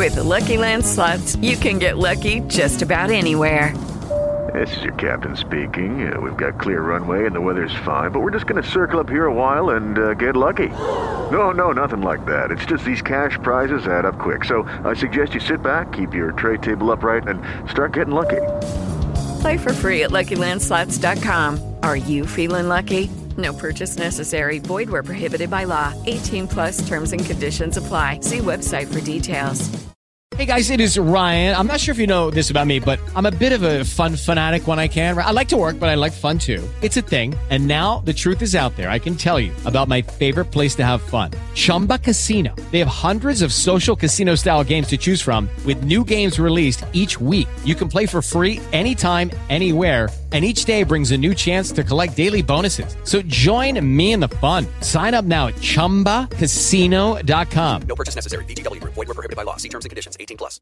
With the Lucky Land Slots, you can get lucky just about anywhere. This is your captain speaking. We've got clear runway and the weather's fine, but we're just going to circle up here a while and get lucky. No, nothing like that. It's just these cash prizes add up quick. So I suggest you sit back, keep your tray table upright, and start getting lucky. Play for free at LuckyLandSlots.com. Are you feeling lucky? No purchase necessary. Void where prohibited by law. 18 plus terms and conditions apply. See website for details. Hey guys, it is Ryan. I'm not sure if you know this about me, but I'm a bit of a fun fanatic when I can. I like to work, but I like fun too. It's a thing. And now the truth is out there. I can tell you about my favorite place to have fun. Chumba Casino. They have hundreds of social casino style games to choose from with new games released each week. You can play for free anytime, anywhere. And each day brings a new chance to collect daily bonuses. So join me in the fun. Sign up now at ChumbaCasino.com. No purchase necessary. VGW Group. Void where prohibited by law. See terms and conditions. 18 plus.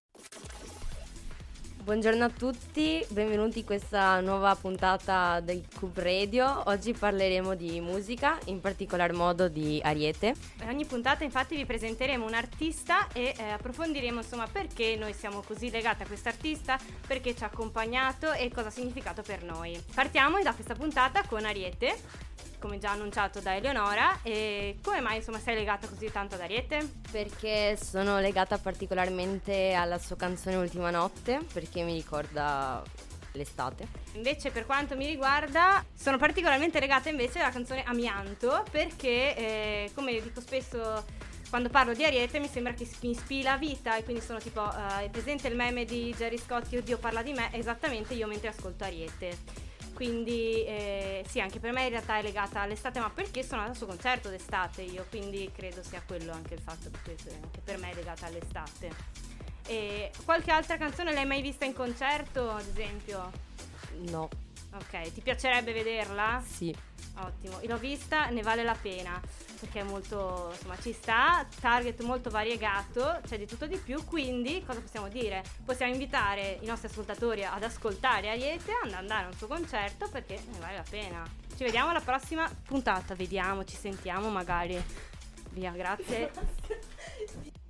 Buongiorno a tutti, benvenuti in questa nuova puntata del Cube Radio. Oggi parleremo di musica, in particolar modo di Ariete. Ogni puntata infatti vi presenteremo un artista e approfondiremo insomma perché noi siamo così legati a quest'artista, perché ci ha accompagnato e cosa ha significato per noi. Partiamo da questa puntata con Ariete, come già annunciato da Eleonora. E come mai insomma sei legata così tanto ad Ariete? Perché sono legata particolarmente alla sua canzone Ultima Notte, perché mi ricorda l'estate. Invece per quanto mi riguarda sono particolarmente legata invece alla canzone Amianto, perché come dico spesso quando parlo di Ariete mi sembra che mi ispiri la vita, e quindi sono tipo è presente il meme di Gerry Scotti, Oddio parla di me, esattamente io mentre ascolto Ariete. Quindi sì, anche per me in realtà è legata all'estate, ma perché sono andata al suo concerto d'estate io, quindi credo sia quello anche il fatto che per me è legata all'estate. E qualche altra canzone l'hai mai vista in concerto, ad esempio? No. Ok, ti piacerebbe vederla? Sì. Ottimo, l'ho vista, ne vale la pena, perché è molto, insomma, ci sta, target molto variegato, c'è di tutto di più, quindi cosa possiamo dire? Possiamo invitare i nostri ascoltatori ad ascoltare Ariete, ad andare a un suo concerto, perché ne vale la pena. Ci vediamo alla prossima puntata, vediamo, ci sentiamo magari. Via, grazie.